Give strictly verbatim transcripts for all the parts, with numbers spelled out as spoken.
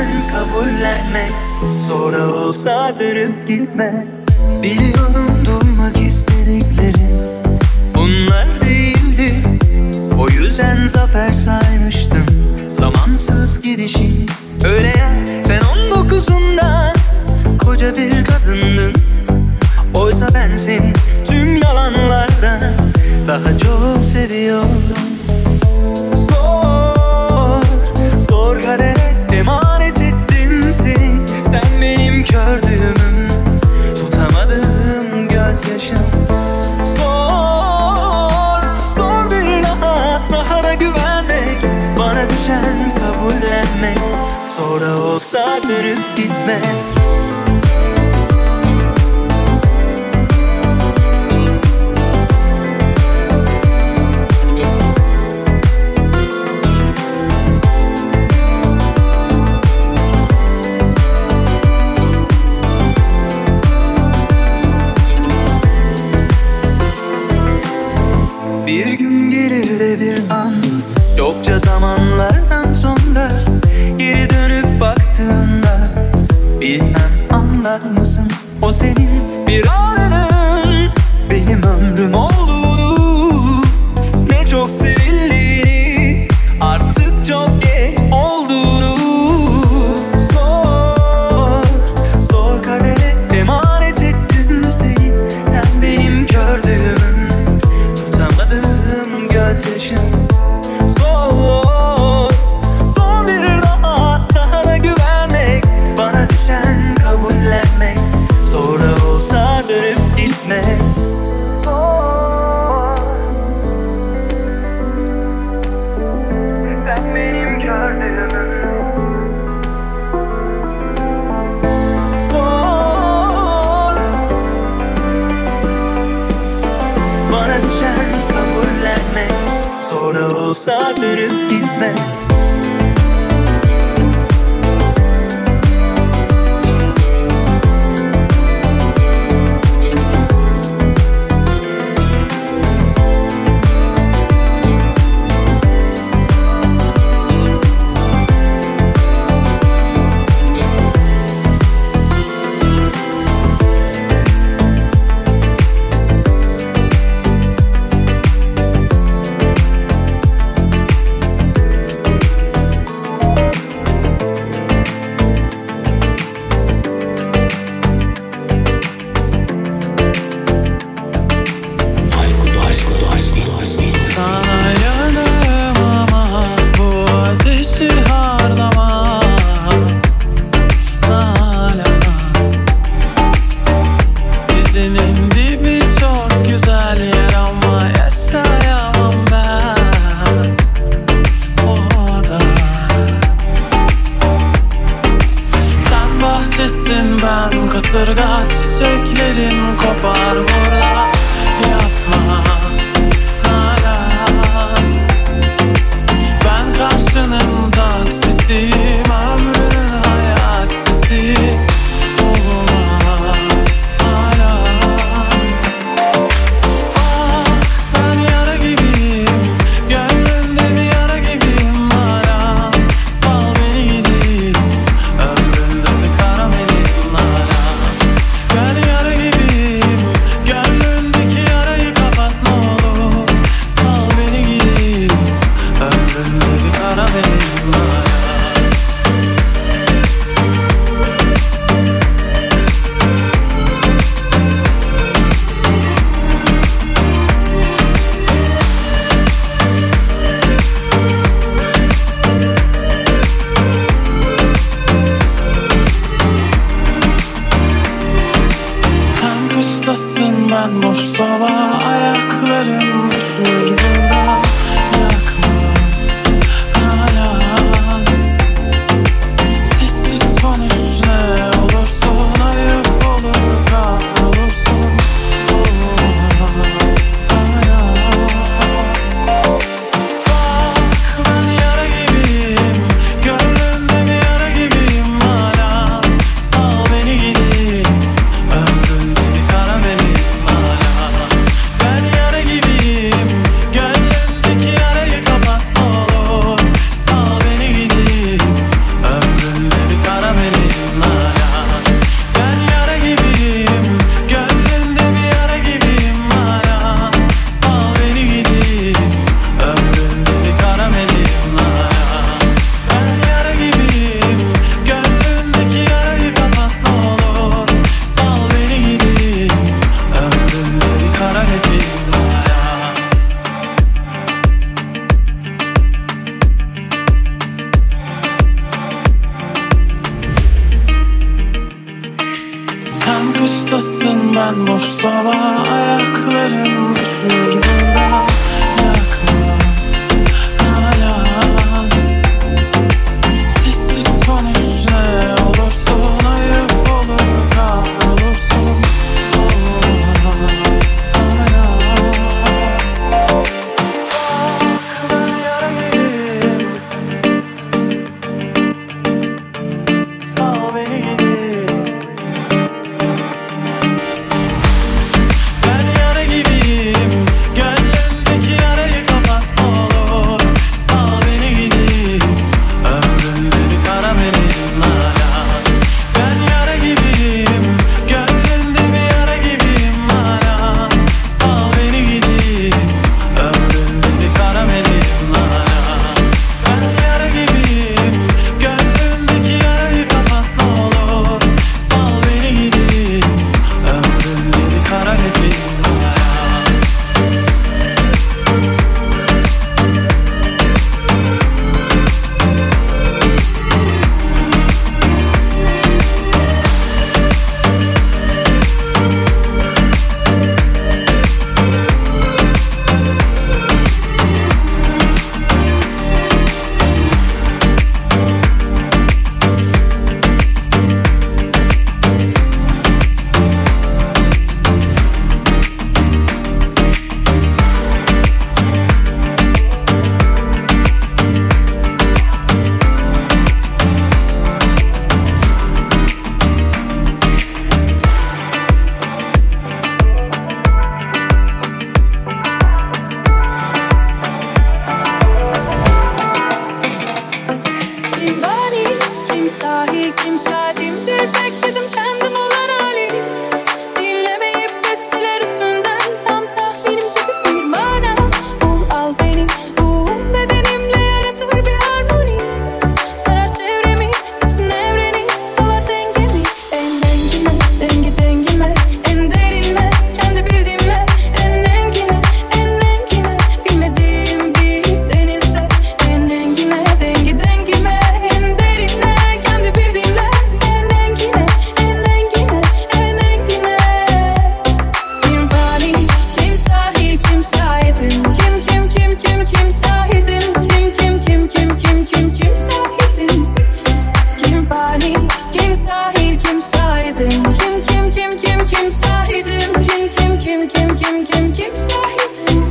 kabullenmek, sonra olsa dönüp gitme. Biliyorum duymak istediklerin bunlar değildi. O yüzden zafer saymıştım zamansız gidişi. Öyle ya, sen on dokuzunda koca bir kadındın. Oysa ben seni tüm yalanlardan daha çok seviyorum. Zor, zor kadere emanet ettim seni. Sen benim kördüğümüm, tutamadığım gözyaşım. Zor, zor bir daha, daha da güvenmek. Bana düşen kabullenmek, sonra olsa dönüp gitme. Bir gün gelir de bir an, çokça zamanlardan sonra geri dönüp baktığında bilmem anlar mısın? O senin bir anının benim ömrüm olduğunu, ne çok sevildiğini, artık çok geç olduğunu. Zor, zor kadere emanet ettim seni. Sen benim kördüğüm, tutamadığım gözyaşım. Zor, zor bir daha, daha da güvenmek. Bana düşen kabullenmek, sonra olsa dönüp gitmek. Zor, sen benim kördüğümüm. Zor, bana düşen kabullenmek, sonra olsa dönüp gitmek. Kasırga çiçeklerin kopar burada. Yapma hala. Ben karşının taksisiyim, ömrün hayat sesi. Olmaz hala. Bak ben yara gibiyim, gönlünde bir yara gibiyim hala. Sal beni gideyim, ömründe bir karamelim hala. Ben yara gibiyim, gönlündeki yarayı kapat ne olur. Sal beni gideyim, ömrümde bir kara benim hala. Sen kışlasın ben boş soba, ayaklarım düşür burada. Yakma hala. ben boş sabah. Ayaklarım üşür burada. Yakma hala. Sessiz konuş ne olursun. Ayıp olur kahrolursun. Oh, hala. Bak ben yara gibiyim. Sal beni gideyim. Ben yara gibiyim. Gönlümdeki yarayı kapat ne olur. Sal beni gideyim. Ömrümde bir kara meleğim hala. Ben yara gibiyim. Gönlümde bir yara gibiyim hala. Sal beni gideyim. Ömrümde bir kara meleğim hala. Ben yara gibiyim. Gönlümdeki yarayı kapat ne olur. Sal beni gideyim. Ömrümde bir kara meleğim hala. Kim bani, kim sahi, kim şadimdir. Bekledim kendim olan hali. Dinlemeyip besteler üstünden tam tahminim gibi bir mana. Bul al beni, ruhum bedenimle yaratır bir harmoni. Sarar çevremi, bütün evreni, salar dengemi. En dengime, dengi dengime, en derinme, kendi bildiğimle. En engine, en engine, bilmediğim bir denizde. En engine, dengi dengime, en derine, kendi bildiğimle. En engine, en engine, en engine. Kim bani, kim sahil, kim şahidim. Kim kim kim kim kim şahidim. Kim kim kim kim kim kim kim şahidim. Kim bani, kim sahil, kim şahidim. Kim kim kim kim kim şahidim. Kim kim kim kim kim kim kim şahidim.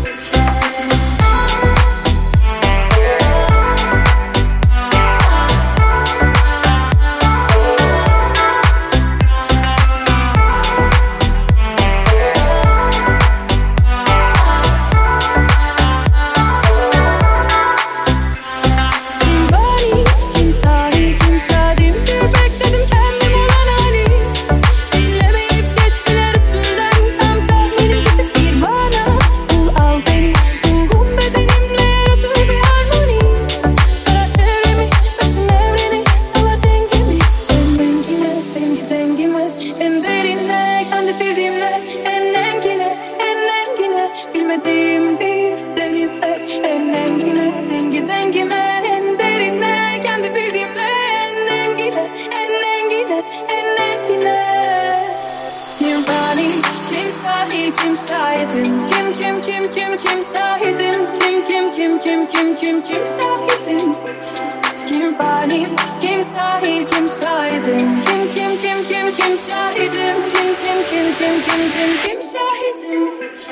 Kim bani, kim sahi, kim şadimdir. Bekledim kendim olan hali. Dinlemeyip geçtiler üstünden tam tahminim gibi bir mana. Bul al beni, ruhum bedenimle yaratır bir harmoni. Sarar çevremi, bütün evreni, salar dengemi. En engine, dengi dengime, en derine, kendi bildiğimle. En engine, en engine, bilmediğim bir denizde. En engine, dengi dengime, en derine, kendi bildiğimle. En engine, en engine, en engine. Kim bani, kim sahil, kim şahidim. Kim kim kim kim kim şahidim. Kim kim kim kim kim kim kim şahidim. Kim bani, kim sahil, kim şahidim. Kim kim kim kim kim şahidim. Kim kim kim kim kim kim kim şahidim.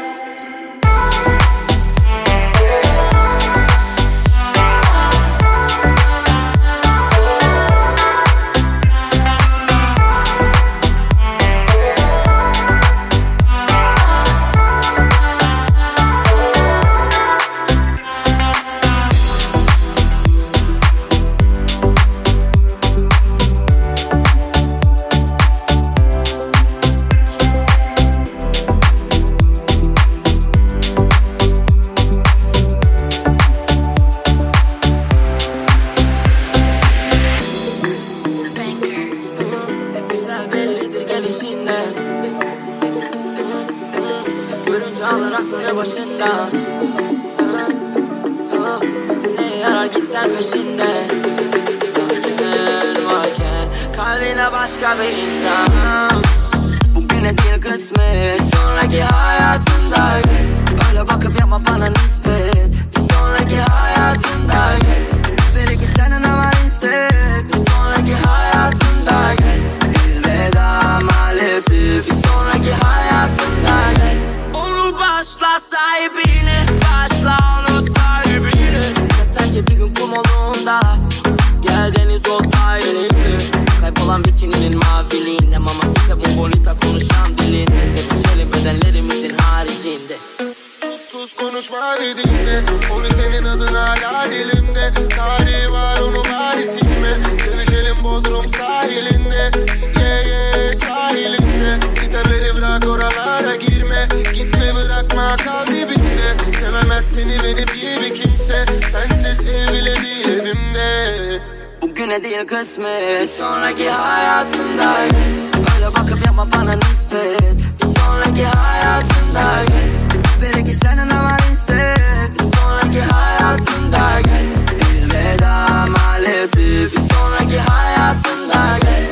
aklı başında. Ne yarar gitsen peşinde. Varken varken kalbine başka bir insan. Bugün Bugüne değil kısmet, sonraki hayatında gel. Öyle bakıp yapma bana nispet, bir sonraki hayatında gel. Belki senin var istek, bir sonraki hayatında gel. Elveda maalesef, bir sonraki hayatında gel. Onu başla sahibine, başla onu sahibine. Yeter ki bir gün kum olduğunda gel deniz ol sahilinde. Kaybolan bikininin maviliğinde, Mamacita bonita konuşan dilinde. Sevişelim bedenlerimizin haricinde. Tuz konuşma dediğinde, onu senin adın hala dilimde. Tarihi var onu bari silme. Sevişelim Bodrum sahilinde, yeah yeah sahilinde. Siteleri bırak oralara girme, gitme bırakma kal dibinde. Sevemez seni benim gibi kimse, sensiz ev bile değil evimde. Bugüne değil kısmet, bir sonraki hayatımda gel. Öyle bakıp yapma bana nispet, bir sonraki hayatımda gel. Belki senin var istek, bir sonraki hayatımda gel. Elveda maalesef, bir sonraki hayatımda gel.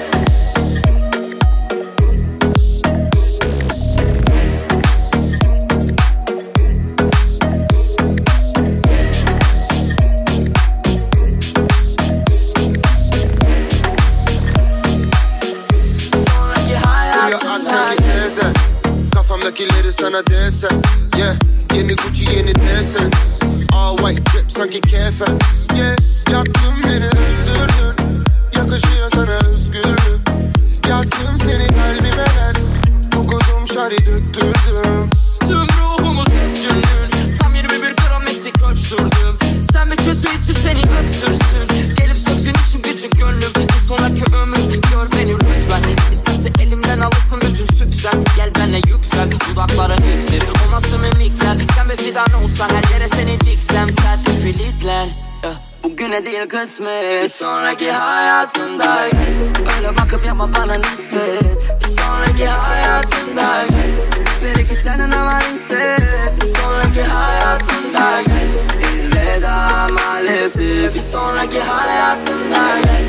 Kafamdakileri sana desen, yeah. Yeni Gucci yeni desen, all white drip sanki kefen, yeah. Yaktın beni öldürdün, yakışıyor sana özgürlük. Yazdım seni kalbime ben, okudum şari döktürdüm. Tüm ruhumu tüttürdün, tam yirmi bir gram eksik ölçtürdüm. Sen bir kösü içip seni öksürsün, gelip söksün için gücün gönlüm. Bir sonraki ömür gör beni lütfen, İsterse elimden alırsın bütün süt sen. Gel benle yüksel, dudakların yüksel. O nasıl mimikler, sen bir fidan olsan. Her yere seni diksem, sert bir filizler. Bugüne değil kısmet, bir sonraki hayatımda gel. Öyle bakıp yapma bana nispet, bir sonraki hayatımda gel. Belki senin var istek, bir sonraki hayatımda gel. Elveda maalesef, bir sonraki hayatımda gel.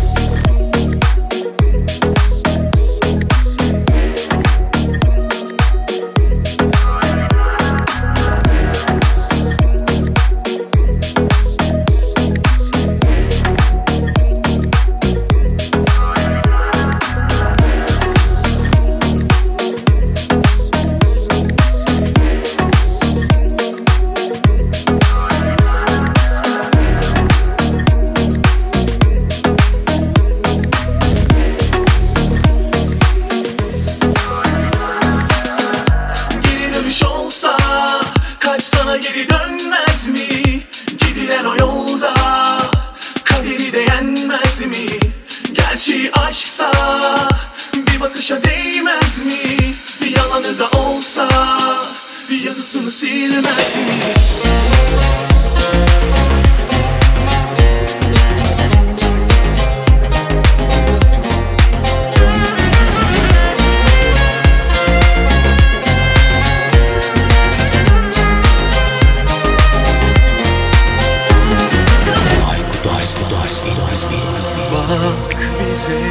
Bak bize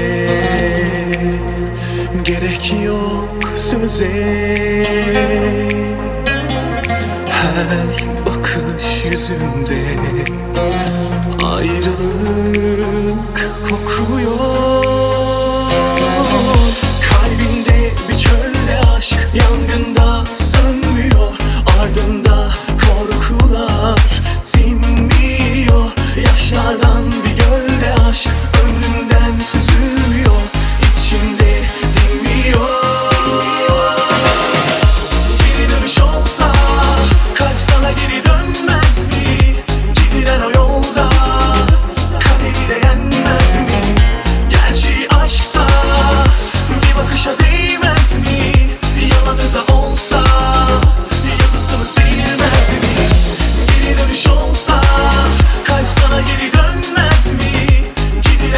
gerek yok söze, her bakış yüzünde ayrılık kokuyor. Kalbinde bir çölde aşk yangında sönmüyor, ardında korkular dinmiyor. Yaşlardan bir gölde aşk ömrümden süzülüyor, içimde dinmiyor. Geri dönüş olsa kalp sana geri dönmez mi? Gidilen o yolda kaderi de yenmez mi? Gerçeği aşksa bir bakışa değmez mi? Yalanı da olsa yazısını silmez mi? Geri dönüş olsa kalp sana geri dönmez mi? Gidilen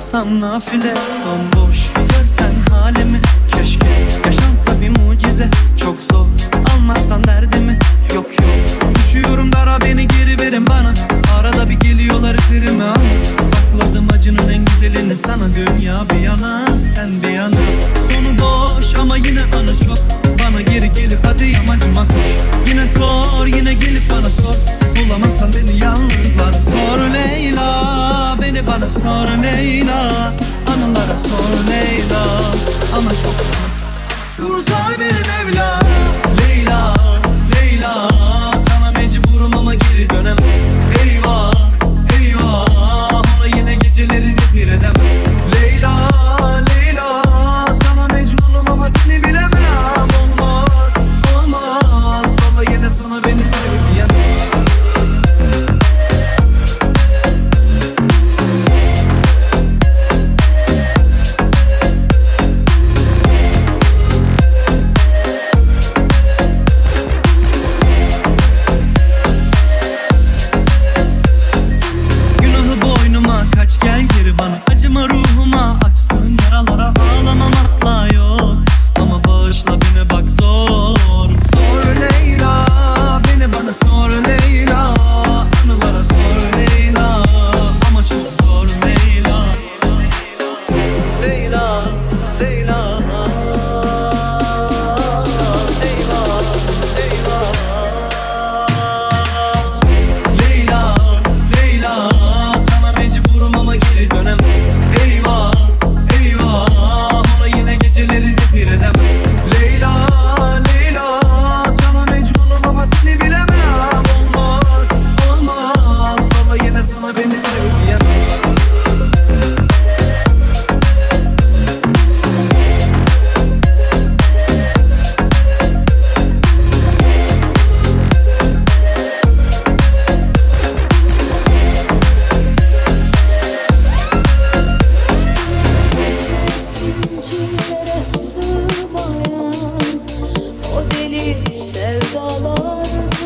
yapsam nafile. Bomboş görsen halimi, keşke yaşansa bir mucize. Çok zor anlatsan derdimi, yok yok düşüyorum dara, beni geri verin bana. Arada bir geliyorlar üzerime ama sakladım acının en güzelini sana. Dünya bir yana, sen bir yana. Sonu boş ama yine anı çok. Bana geri gelip hadi yamacıma koş. Yine sor, yine gelip bana sor. Bulamazsan beni yalnızlara sor Leyla. Beni bana sor Leyla. Anılara sor Leyla. Ama çok zor. Kurtar beni Mevla. Leyla, Leyla. Sana mecburum ama geri dönemem. Eyvah, eyvah. Ona yine geceleri de bir edemem. Leyla, Leyla. Sana mecburum ama seni bilemem. Olmaz, olmaz. Sonra yine sana beni sevmeyen. Gel geri bana, acıma ruhuma, açtığın yaralara ağlamam asla yok. Ama bağışla beni bak zor. Sor Leyla, beni bana sor Leyla. Anılara sor Leyla. Ama çok zor Leyla. Leyla, Leyla. Eyvah, eyvah. Leyla, Leyla. Sana mecburum ama geri dönemem. Eyvah, eyvah. Ona yine geceleri de bir edemem. Leyla, Leyla. Sana mecburum ama seni bilemem. Olmaz, olmaz. Sonra yine sana beni sevmeyen. Zincirlere sığmayan o deli sevdalardan,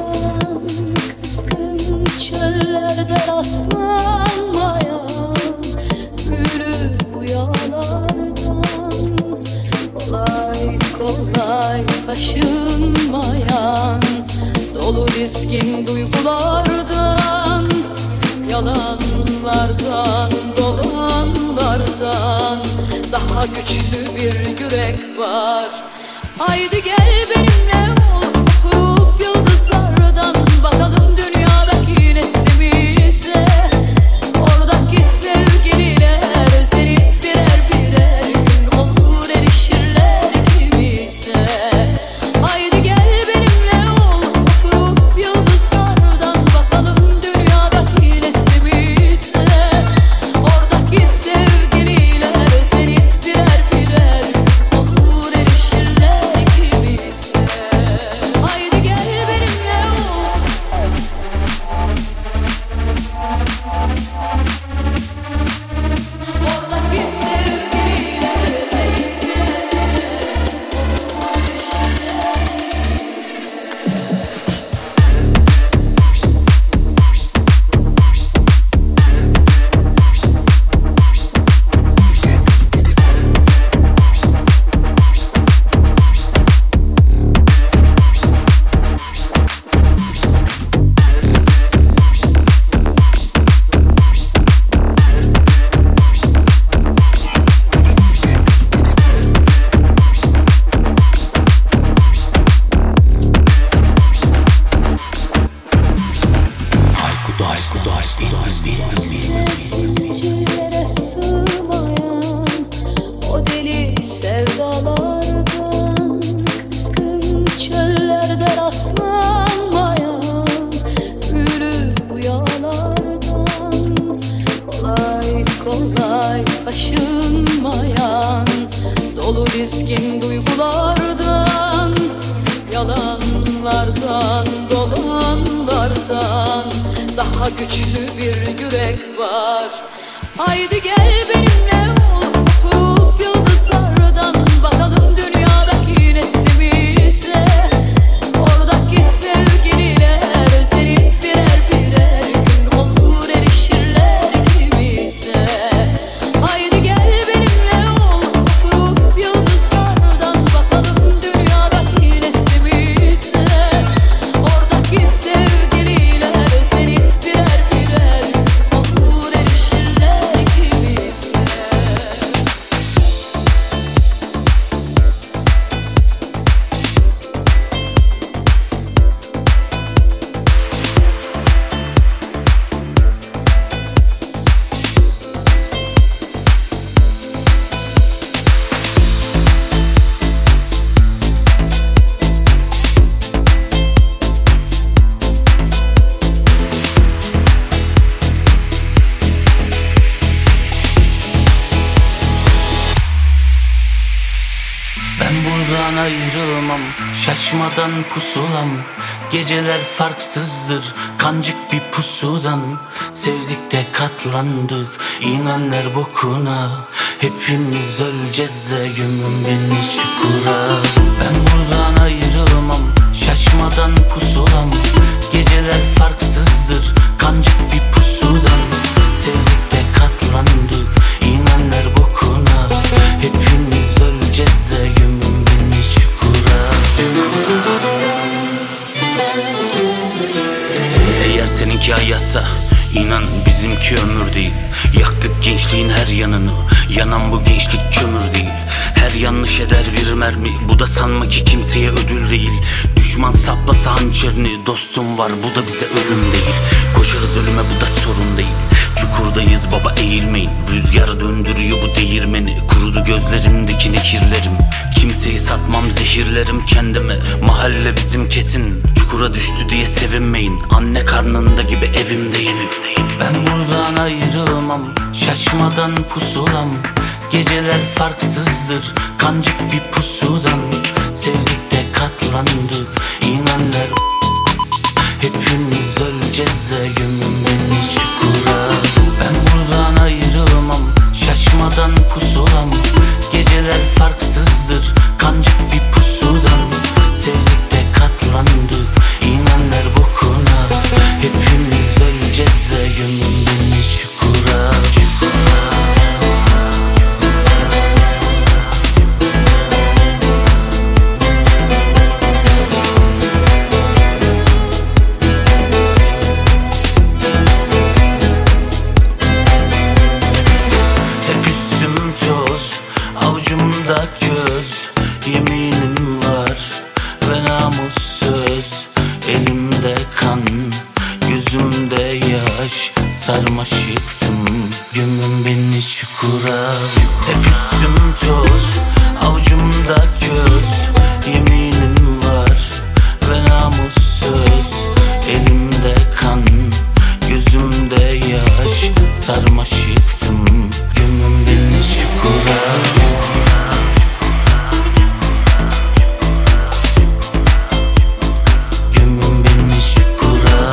kızgın çöllerde rastlanmayan büyülü buyalardan, kolay kolay taşınmayan dolu dizgin duygulardan, yalanlardan, dolanlardan daha güçlü bir yürek var. Haydi gel benimle ol, oturup yıldızlardan bakalım dünyadaki nesimize. Oradaki sevgililer özenip birer birer gün olur erişirler ikimize. Haydi gel benimle ol, oturup yıldızlardan bakalım dünyadaki nesimize. Oradaki sevgililer özenip birer birer olur erişirler ikimize. Haydi gel benimle ol. Oradaki sevgililer özenip birer birer olur erişirler ikimize. Zincirlere sığmayan o deli sevdalardan, kızgın çöllerde rastlanmayan büyülü buyalardan, kolay kolay taşınmayan dolu dizgin duygulardan, yalanlardan, dolanlardan daha güçlü bir yürek var. Haydi gel benimle ol, oturup yıldızlardan bakalım dünyadaki nesimize. Oradaki sevgililer özenip birer birer gün olur erişirler ikimize. Haydi ayrılamam, şaşmadan pusulam. Geceler farksızdır, kancık bir pusudan. Sevdik de katlandık, inanlar bokuna. Hepimiz öleceğiz de gömün beni çukura. Ben buradan ayrılamam, şaşmadan pusulam. Geceler farksızdır, kancık bir pusudan. Sevdik de katlandık, inanlar bokuna. Hepimiz öleceğiz de gömün beni çukura. Eğer seninki hayatsa İnan bizimki ömür değil. Yaktık gençliğin her yanını, yanan bu gençlik kömür değil. Her yanlış eder bir mermi, bu da sanma ki kimseye ödül değil. Düşman saplasa hançerini, dostum var bu da bize ölüm değil. Koşarız ölüme bu da sorun değil. Çukurdayız baba eğilmeyin, rüzgar döndürüyor bu değirmeni. Kurudu gözlerimdeki nekirlerim, kimseyi satmam zehirlerim kendime. Mahalle bizim kesin, çukura düştü diye sevinmeyin. Anne karnında gibi evimdeyim. Ben buradan ayrılamam, şaşmadan pusulam. Geceler farksızdır, kancık bir pusudan. Sevdik de katlandık, inanlar. Hepimiz öleceğiz de gömün beni çukura. Ben buradan ayrılamam, şaşmadan pusulam. Geceler farksızdır, kancık bir pusudan. Sevdik de katlandık, inanlar bokuna. Hepimiz öleceğiz de gömün beni çukura. Hep üstüm toz, avucumda göz. Yeminim var ve namussuz. Elimde kan, gözümde yaş. Sarmaşıktım, gömün beni çukura. Hep üstüm toz, avucumda göz. Yeminim var ve namussuz. Elimde kan, gözümde yaş. Sarmaşıktım, gömün beni çukura. Gömün beni çukura.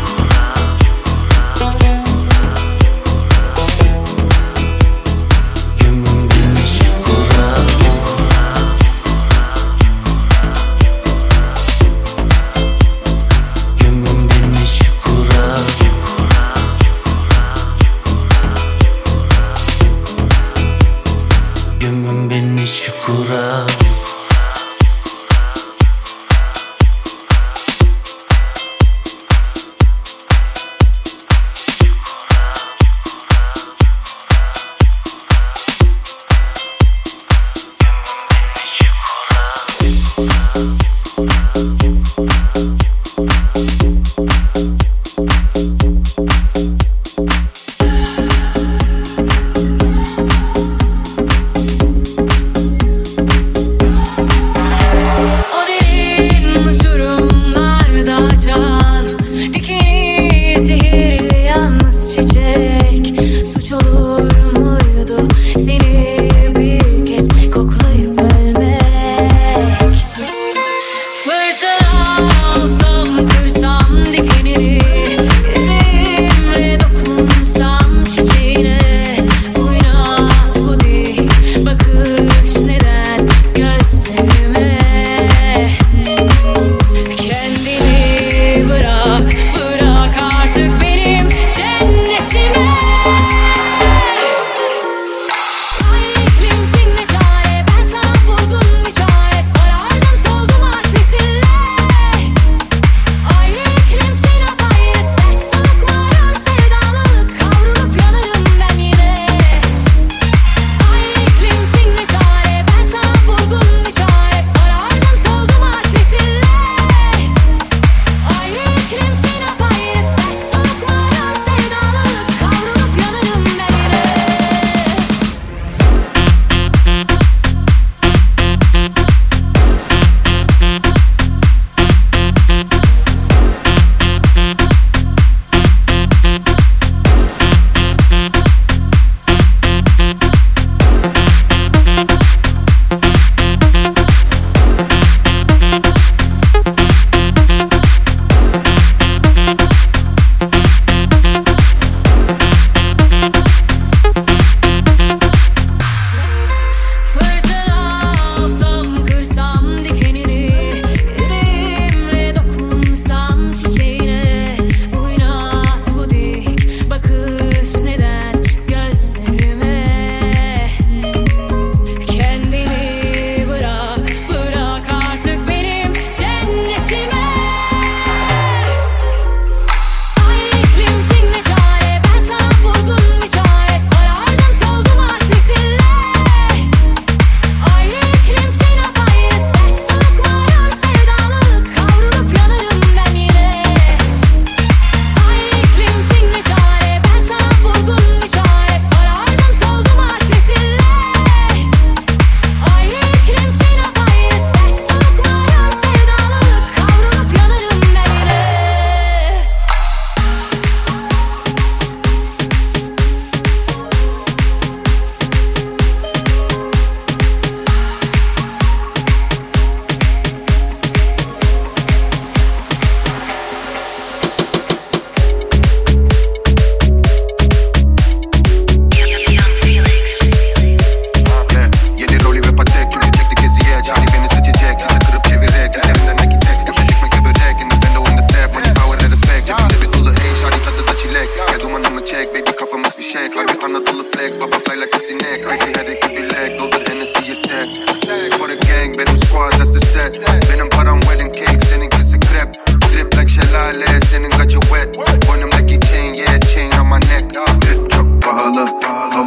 Gömün beni çukura. Gömün beni çukura. Gömün beni çukura. O derin uçurumlarda açan dikeni zehirli yalnız çiçek. Suç olur muydu seni bir kez koklayıp ölmek? Fırtına olsam kırsam dikenini, yüreğimle dokunsam çiçeğine. Oynat bu dik bakış neden gözlerime? Kendini bırak, bırak artık benim cennetime.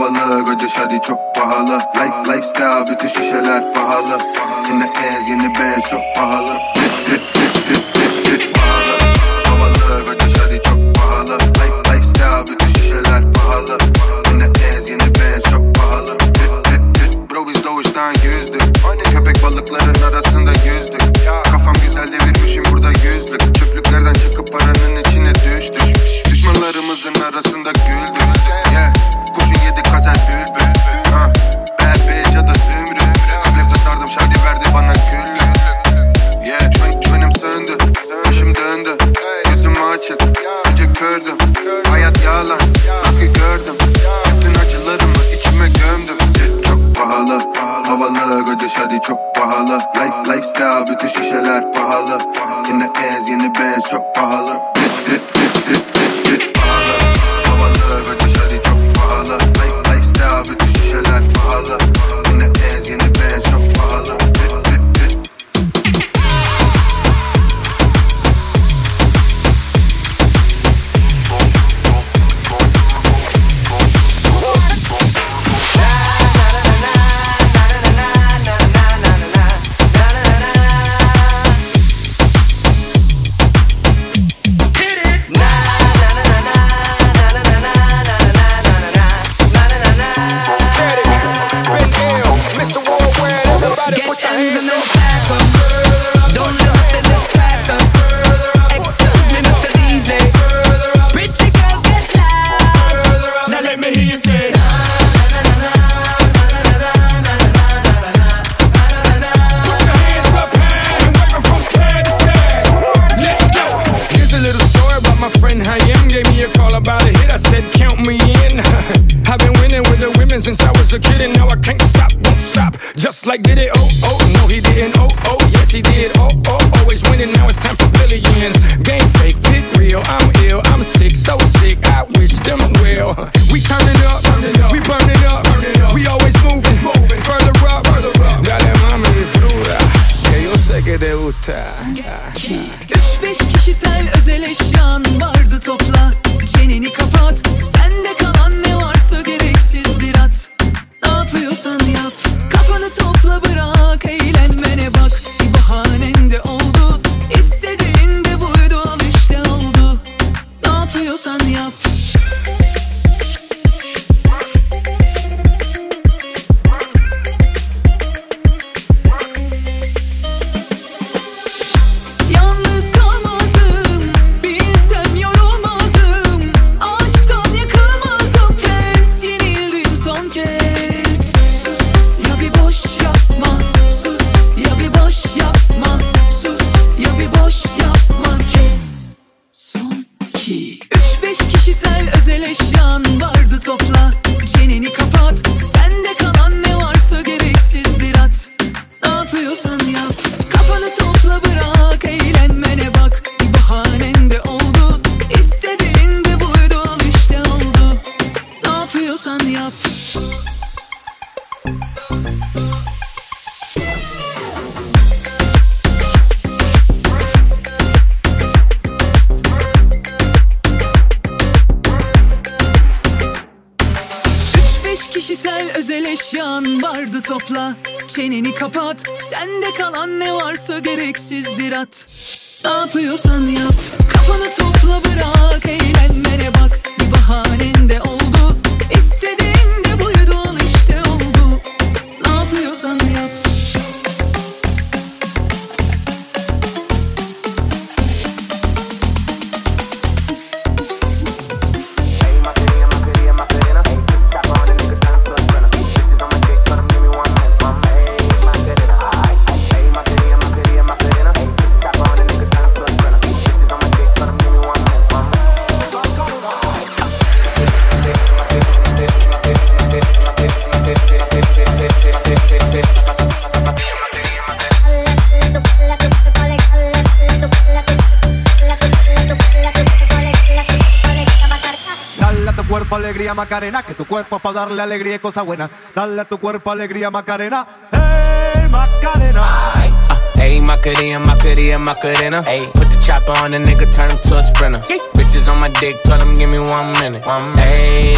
havalı, koca şadi çok pahalı. Life, lifestyle, bütün şişeler pahalı. Yine ez, yeni bez çok pahalı. Rit, rit, rit, rit, rit, rit, pahalı. Havalı, koca şadi çok pahalı. Life, lifestyle, bütün şişeler pahalı. Yine ez, yeni bez çok pahalı. Rit, rit, rit, bro biz doğuştan yüzdük. Köpek balıkların arasında yüzdük. Kafam güzel devirmişim burada yüzlük. Çöplüklerden çıkıp paranın içine düştük. Düşmanlarımızın arasında güldük. Yeah, kuşun yedi kazer bülbül. uh, Bad bitch adı Zümrüt. Splif'le sardım şarkı verdi bana güllük. Yeah, çönim söndü, başım döndü. Gözüm açık, önce kördüm. Hayat yalan, özgü gördüm. Bütün acılarımı içime gömdüm. Shit çok pahalı, havalı, koca şadi çok pahalı. Life, lifestyle, bütün şişeler pahalı. Yine ez, yeni bez çok pahalı. Rit, rit, rit, rit, rit, rit, pahalı. Havalı, koca şadi çok pahalı. Life, lifestyle, bütün şişeler pahalı. Yine ez, yeni bez çok pahalı. Rit, rit, rit. Like did it, oh, oh, no he didn't, oh, oh, yes he did, oh, oh, always winning, now it's time for billions. Game fake, pick real, I'm ill, I'm sick, so sick, I wish them well. We turn it up, turn it up. We burn it up, burn it up. We always moving, moving, further up, further up. Dale mami disfruta, que yo sé que te gusta. Üç beş kişisel özel eşyan vardı topla. Çeneni kapat, sende kalan ne varsa gereksizdir at. Ne yapıyorsan yap, kafanı topla bırak, eğlenmene bak. Bir bahanen de oldu, istediğin de buydu, al işte oldu. Ne yapıyorsan yap. Yalnız kalmazdım, bilsem yorulmazdım. Aşktan yakılmazdım, pes yenildim son kez. Sus ya bir boş yapma, sus ya bir boş yapma, sus ya bir boş yapma, kes. Son iki. Üç beş kişisel özel eşyan vardı topla. Çeneni kapat, sende kalan ne varsa gereksizdir at. Ne yapıyorsan yap, kafanı topla bırak, eğlenmene bak. Bir bahanen de oldu, istediğin de buydu, al işte oldu. Ne yapıyorsan yap. Üç beş kişisel özel eşyan vardı topla. Çeneni kapat, sende kalan ne varsa gereksizdir at. Ne yapıyorsan yap, kafanı topla bırak, eğlenmene bak. Bir bahanen de oldu, istediğin de buydu, al işte oldu. Ne yapıyorsan yap. Alegría Macarena, que tu cuerpo es para darle alegría y cosas buenas. Dale a tu cuerpo alegría Macarena. Hey Macarena. Hey Macarena, Macarena, Macarena. Hey, put the chopper on the nigga, turn him to a sprinter. Bitches on my dick, tell him give me one minute. One minute. Hey Macarena.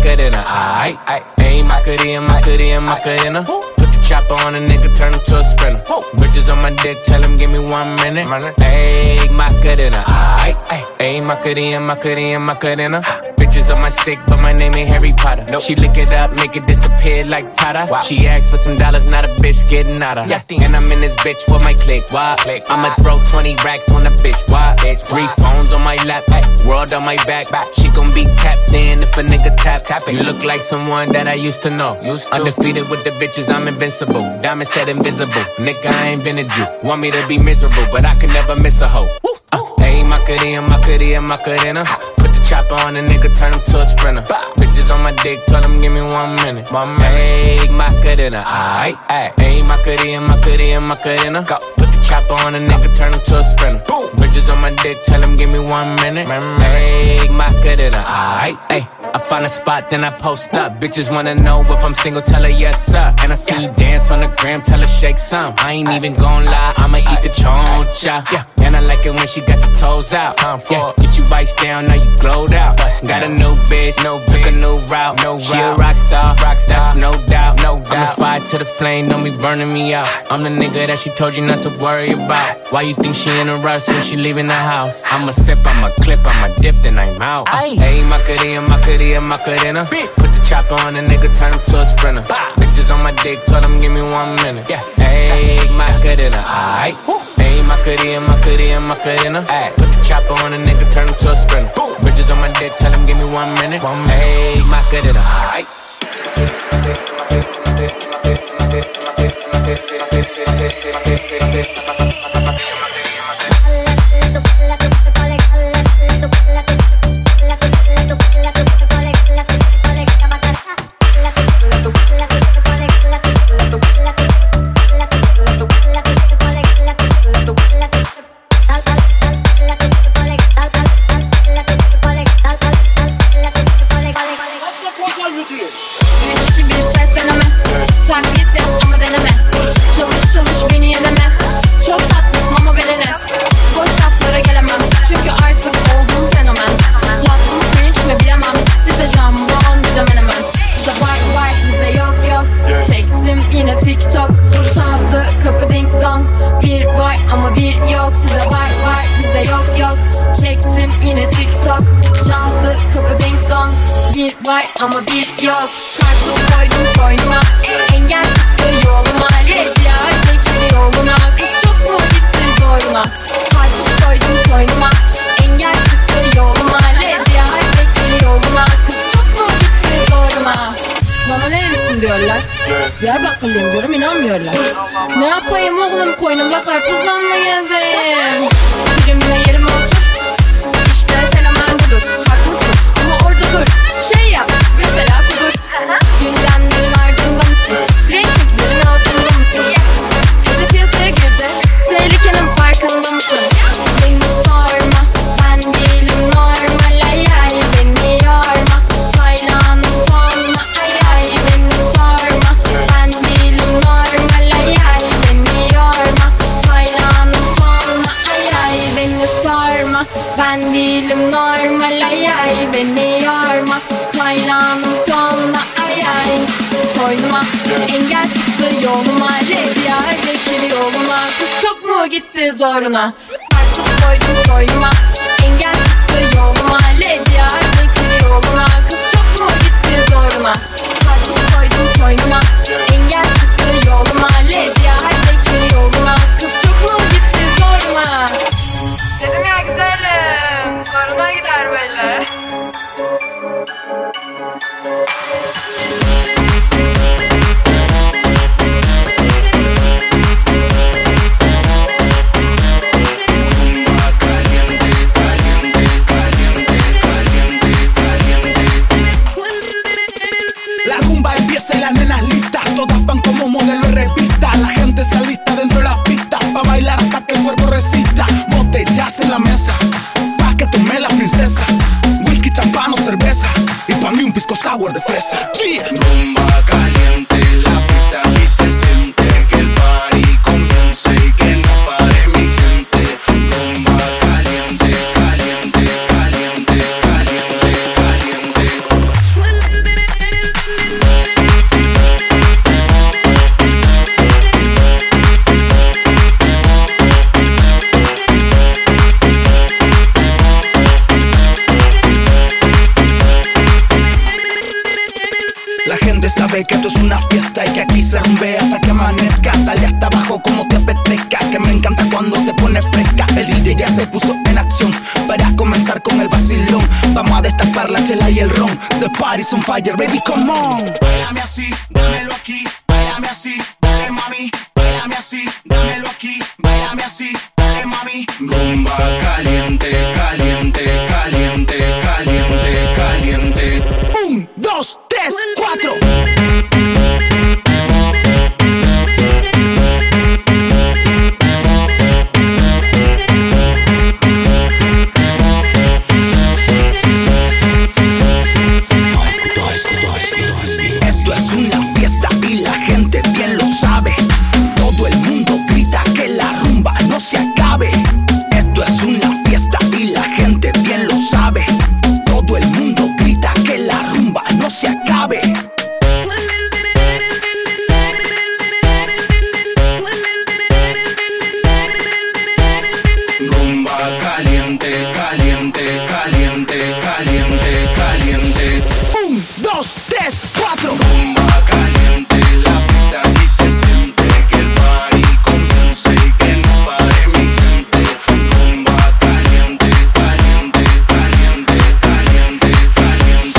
Macarena. Aight, aight. Ayy, Macarena, Macarena, Macarena. Put the chopper on a nigga, turn him to a sprinter. Bitches on my dick, tell him give me one minute. Ayy, Macarena. Aight, aight. Ayy, Macarena, Macarena, Macarena. Bitches on my stick, but my name ain't Harry Potter. Nope. She lick it up, make it disappear like Tata. Wow. She asked for some dollars, not a bitch getting out of. Yeah. And I'm in this bitch for my click. Why? Click. I'ma throw twenty racks on the bitch. Why? Bitch. Three phones on my lap, ay. World on my back. back. She gon' be tapped in if a nigga tap tap it. You look like someone that I used to know. Used to. Undefeated with the bitches, I'm invincible. Diamond said invisible. Nigga, I ain't been a Jew. Want me to be miserable, but I can never miss a hoe. Ayy, uh, Macarena, Macarena, Macarena. Put the chopper on a nigga, turn him to a sprinter. Bah. Bitches on my dick, tell him give me one minute. One minute. Ayy, Macarena, aight, aight. Ayy, Macarena, Macarena, Macarena. Go. Put the chopper on a nigga, turn him to a sprinter. Boom. Bitches on my dick, tell him give me one minute. Ayy, Macarena, aight, ayy. I find a spot, then I post up. Bitches wanna know if I'm single, tell her yes, sir. And I see you dance on the gram, tell her shake some. I ain't even gon' lie, I'ma eat the choncha. Yeah. And I like it when she got the toes out. Yeah. Get you iced down, now you glowed out. Got a new bitch, no took a new route. No she route. A rock star, rock star, that's no doubt. No doubt. I'm the fire to the flame, don't be burning me out. I'm the nigga that she told you not to worry about. Why you think she in a rush when she leaving the house? I'ma sip, I'ma clip, I'ma dip, then I'm out. Ayy, Macarena, Macarena, Macarena. Put the chopper on a nigga, turn him to a sprinter. Bah. Bitches on my dick, told him give me one minute. Yeah. Ayy, Macarena, aight. Ayy, Macarena, Macarena, Macarena. Ay. Put the chopper on a nigga, turn him to a sprinter. Boom. Bitches on my dick, tell him give me one minute. One minute. Ayy, Macarena, aight. Ama bir yok. Karpuz koydum koynuma, engel çıktı yoluma. Levya'daki yoluna, kız çok mu gitti zoruna? Karpuz koydum koynuma, engel çıktı yoluma. Levya'daki yoluna, kız çok mu gitti zoruna? Bana nerelisin diyorlar. Diyarbakırlıyım diyorum, inanmıyorlar. Ne yapayım oğlum, koynumda karpuzla mı gezeyim? Birimle yerime otur, işte fenomen budur. Haklısın ama orada dur, şey yap. Mesela kudur. Gündemlerin ardında mısın? Reytinglerin altında mısın? Gece piyasaya girdi, tehlikenin farkında mısın? Beni sorma, ben değilim normal. Ay ay beni yorma, hayranım tonla. Ay ay beni sorma, ben değilim normal. Ay ay beni yorma, hayranım tonla. Ay ay beni sorma, ben değilim normal. Ay ay beni yorma, hayranım tonla. Ay ay koynuma, engel çıktı yoluma. Levya'daki yoluna, kız çok mu gitti zoruna? Karpuz koydum koynuma, engel çıktı yoluma. Levya'daki yoluna, kız çok mu gitti zoruna? Karpuz koydum koynuma, engel çıktı yoluma. Levya'daki yoluna, kız çok mu gitti zoruna? Dedim ya güzelim, zoruna gider böyle. La rumba empieza y las nenas listas, todas van como modelo de revista. La gente se alista dentro de las pistas pa' bailar hasta que el cuerpo resista. Botellas en la mesa, pa' que tome la princesa. Whisky, champán o cerveza, y pa' mí un pisco sour de fresa. Yeah. Rumba caliente, la pista y se siente que el party comience y que no pare mi gente. Rumba caliente, caliente, caliente, caliente, caliente. gente sabe que esto es una fiesta y que aquí se rumbea hasta que amanezca. Dale hasta abajo como te apetezca, que me encanta cuando te pones fresca. El D J ya se puso en acción para comenzar con el vacilón. Vamos a destapar la chela y el ron. The party's on fire, baby, come on. Báilame así, dámelo aquí. Báilame así, dale mami. Báilame así, dámelo aquí. Báilame así, dale mami. Rumba caliente, caliente, caliente, caliente, caliente. Un, dos, tres, cuatro. Esto es una fiesta y la gente bien lo sabe. Todo el mundo grita que la rumba no se acabe. Esto es una fiesta y la gente bien lo sabe. Todo el mundo grita que la rumba no se acabe. Rumba caliente, caliente, caliente, caliente, caliente. Un, dos, tres, cuatro. Rumba caliente, la fiesta aquí se siente. Que el party comience y que no pare mi gente. Rumba caliente, caliente, caliente, caliente, caliente.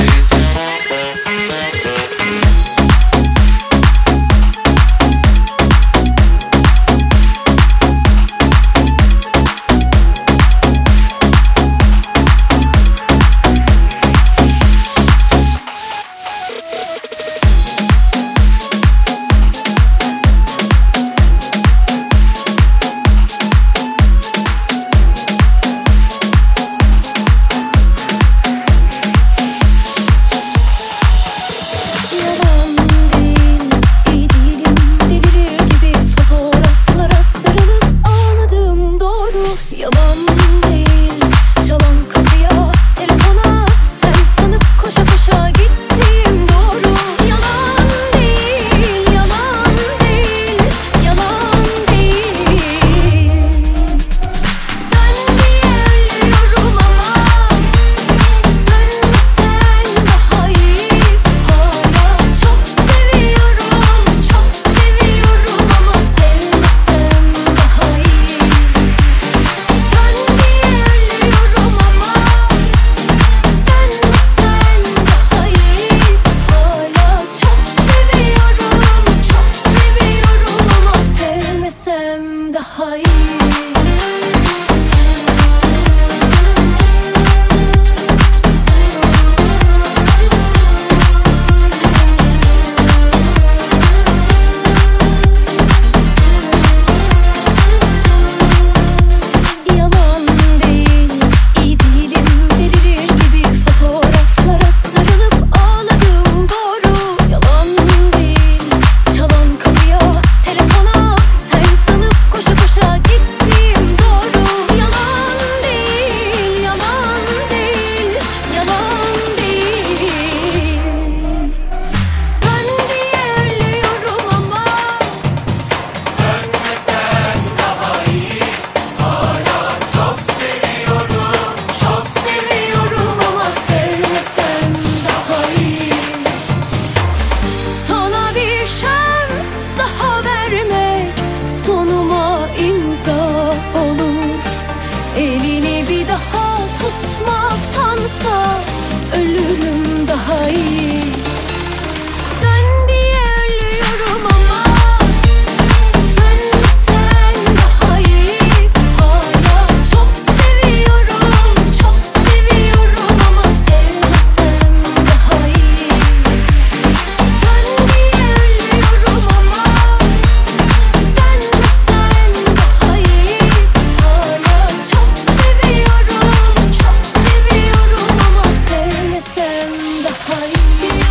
Yalan değil, iyi değilim. Delirir gibi fotoğraflara sarılıp ağladım, doğru. Yalan değil, çalan kapıya, telefona sen sanıp koşa koşa gittim, doğru. Yalan değil, yalan değil, yalan değil. Ben diye ölüyorum ama dönmesen daha iyi. Hala çok seviyorum, çok seviyorum ama sevmesem daha iyi. Ben diye ölüyorum ama dönmesen daha iyi. Hala çok seviyorum, çok seviyorum ama sevmesem daha iyi. Yalan değil, iyi değilim. Delirir gibi fotoğraflara sarılıp ağladım, doğru. Yalan değil, çalan kapıya, telefona sen sanıp koşa koşa gittim, doğru. Yalan değil, yalan değil, yalan değil. Ben diye ölüyorum ama çok seviyorum ama sevmesem daha iyi. Sana bir şans daha vermek sonuma imza olur. Elini bir daha tutmaktansa ölürüm daha iyi. Dön diye ölüyorum ama dönmesen daha iyi. Hala çok seviyorum, çok seviyorum ama sevmesem daha iyi. Dön diye ölüyorum ama dönmesen daha iyi. Hala çok seviyorum, çok seviyorum ama sevmesem daha iyi.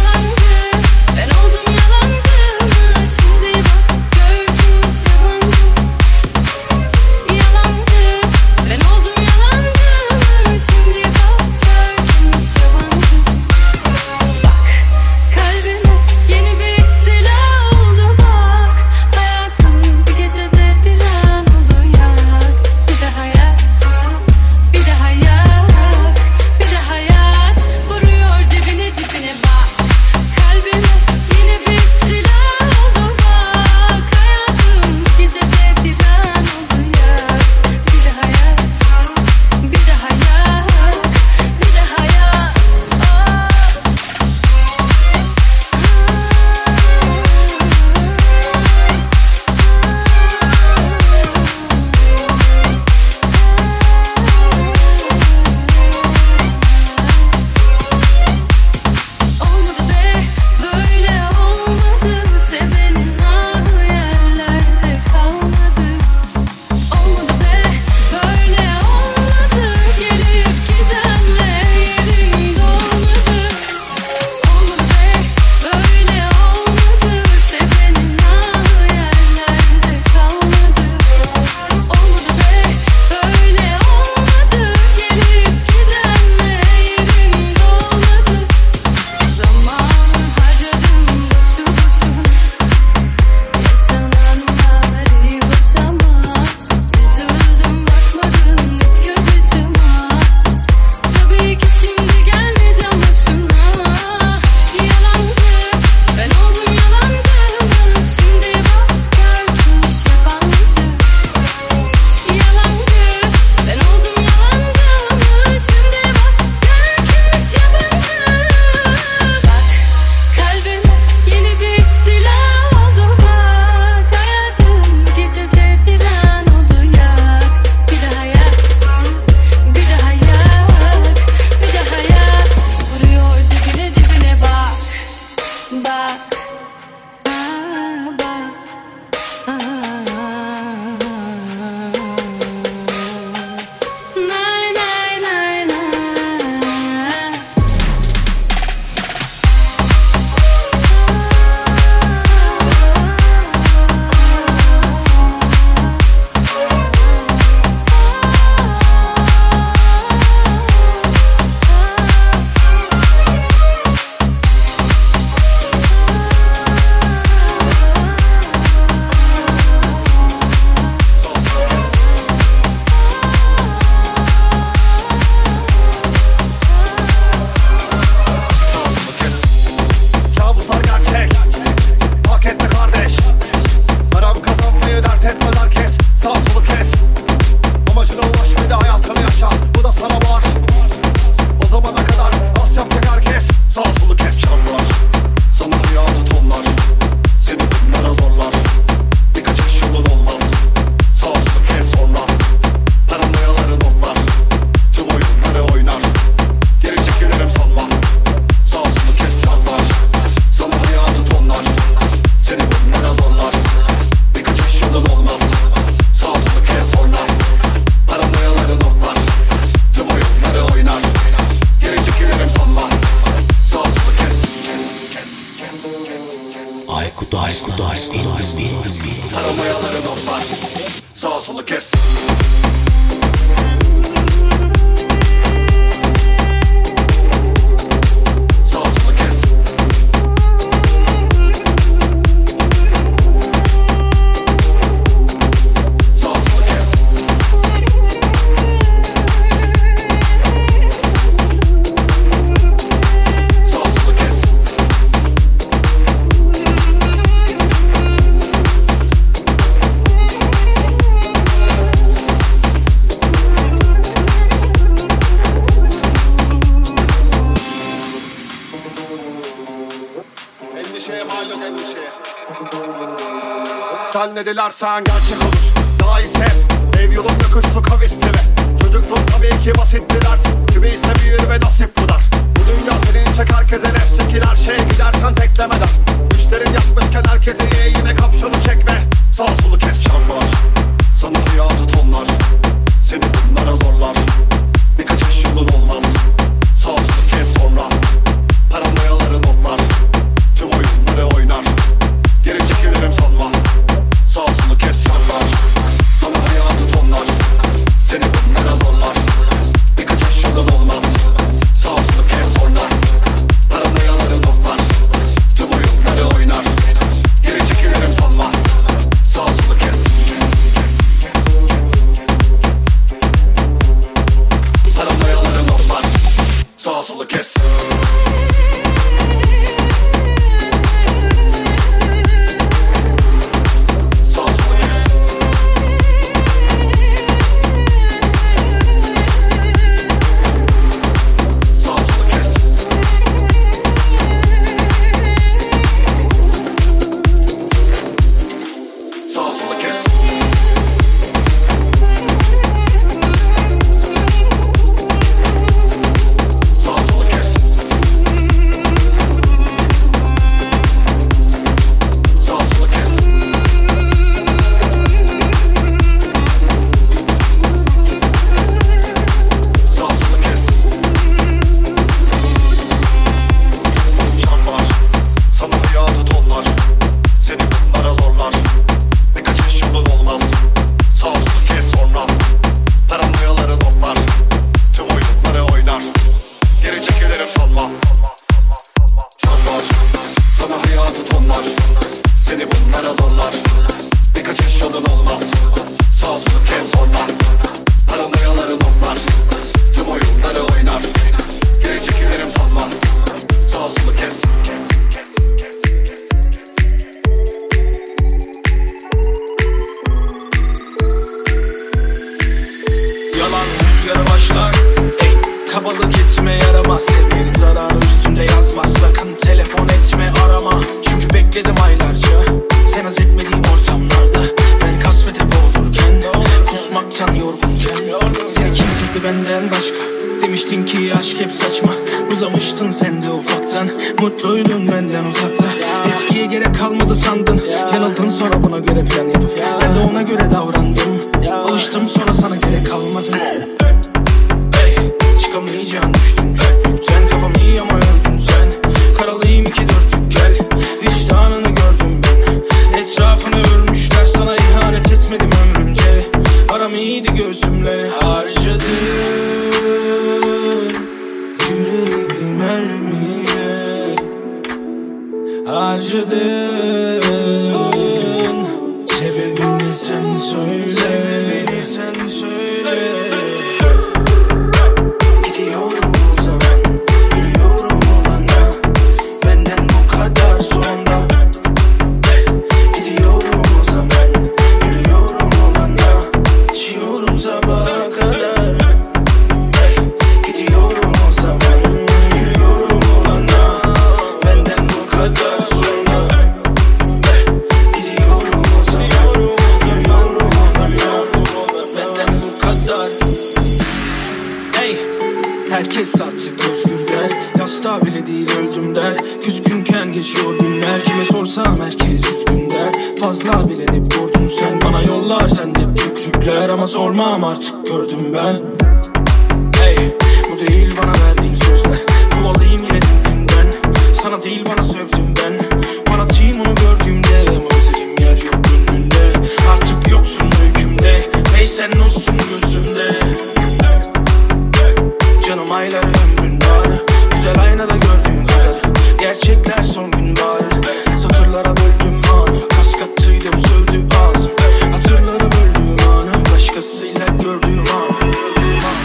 bak. Aa, bak. Aa. Nay, nay, nay, nay. Kabuslar gerçek, hak etme kardeş. Param kazanmayı dert etmez herkes. Sağ solu kes, amacına ulaş bir de hayatını yaşa. Bu da sana var. O zamana kadar az yapacak herkes. Sağ solu kes şanlar, sana hayatı tonlar. Seni bunlara zorlar, bir kaçış yolun olmaz. Sağ solu kes sonra, paranoyaları notlar. Tüm oyunları oynar, geri çekilirim sanma. Sağ solu kes şanlar, sana hayatı tonlar. Seni bunlara zorlar, bir kaçış yolun olmaz. Sağ solu kes sonra, paranoyaları notlar. Tüm oyunları oynar, geri çekilirim sanma. Sağ solu kes. Aykut Arslan, Paranoyaları notlar. Sağ solu kes. Sağ solu kes. Sağ solu kes. Sağ solu kes. Endişeye mal yok endişeye. Sen ne dilersen gerçek olur. Daha iyisi hep ev yolum yokuştu kavisti ve çocukluğum tabii ki basitti dert. Kimi ise büyür ve nasip budar. Bu dünya senin çek herkese res çekil. Her şeye gidersen teklemeden. Müşterin yakmışken herkese ye yine kapşonu çek ve sağ solu kes şanlar. Sana hayatı tonlar. Seni bunlara zorlar, bir kaçış yolun olmaz. Sağ solu kes sonra, paranoyaları notlar. Tüm oyunları oynar, geri çekilirim sanma. Sağ solu kes şanlar, sana hayatı tonlar. Seni bunlara zorlar, bir kaçış yolun olmaz. Sağ solu kes sonra, paranoyaları notlar. Tüm oyunları oynar, geri çekilirim sanma. Sağ solu kes. Paranoyaları notlar. Sağ solu kes. benden başka. Demiştin ki aşk hep saçma, uzamıştın sen de ufaktan. Mutluydun benden uzakta. Eskiye gerek kalmadı sandın. Yanıldın sonra buna göre plan yapıp ben de ona göre davrandım. Alıştım sonra sana gerek kalmadı. Hey, çıkamayacağın düştün çöplükten. Kafam iyi ama öldün sen. Karalıyım iki dörtlük gel. Vicdanını gördüm ben. Etrafını örmüşler, sana ihanet etmedim ömrümce. Aram iyiydi göğsümle. Harcadın yüreği bir mermiyle. Harcadın. Sebebini sen söyle. Sebebini sen söyle. Gidiyorum o zaman, yürüyorum olana. Benden bu kadar sonunda. Gidiyorum o zaman, yürüyorum olana. İçiyorum sabaha kadar. Gidiyorum o zaman, yürüyorum olana. Benden bu kadar sonra. Gidiyorum o zaman, yürüyorum olana. Benden bu kadar. Hey, herkes artık özgür der. Yastığa bile değil öldüm der. Küskünken geçiyor günler. Kime sorsam herkes üzgün der. Fazla bilenip korktun sen. Bana yollar sen de tükrükler. Ama sormam artık gördüm ben. Hey, bu değil bana verdiğin sözler. Kovalayayım yine dünkünden. Sana değil bana sövdüm ben. Fanatiyim onu gördüğümde. Ama ölerim yer yok gönlünde. Artık yoksun öykümde. Hey sen olsun gözümde. Canım aylar ömrün var. Güzel aynada gördüğün kadar. Gerçekler son gün var. Satırlara böldüm anı. Kas kattıydım sövdü ağzım. Hatırlarım öldüğüm anı. Başkasıyla gördüğüm anı. Gördüğüm anı.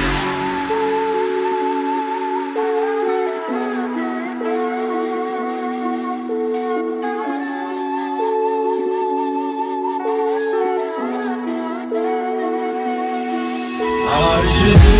Harcadın